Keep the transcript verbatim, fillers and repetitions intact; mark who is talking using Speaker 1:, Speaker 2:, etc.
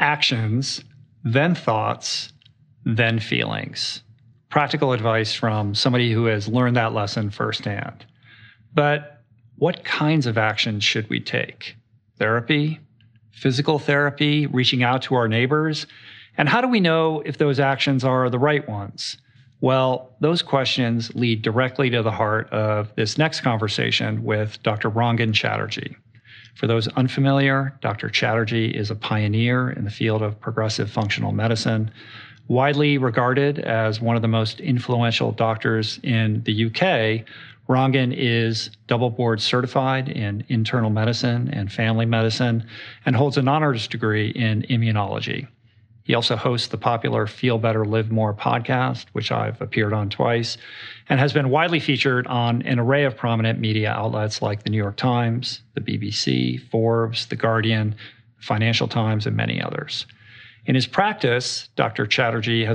Speaker 1: actions, then thoughts, then feelings. Practical advice from somebody who has learned that lesson firsthand. But what kinds of actions should we take? Therapy, physical therapy, reaching out to our neighbors? And how do we know if those actions are the right ones? Well, those questions lead directly to the heart of this next conversation with Doctor Rangan Chatterjee. For those unfamiliar, Doctor Chatterjee is a pioneer in the field of progressive functional medicine, widely regarded as one of the most influential doctors in the U K. Rangan is double board certified in internal medicine and family medicine and holds an honors degree in immunology. He also hosts the popular Feel Better, Live More podcast, which I've appeared on twice, and has been widely featured on an array of prominent media outlets like the New York Times, the B B C, Forbes, The Guardian, Financial Times, and many others. In his practice, Doctor Chatterjee has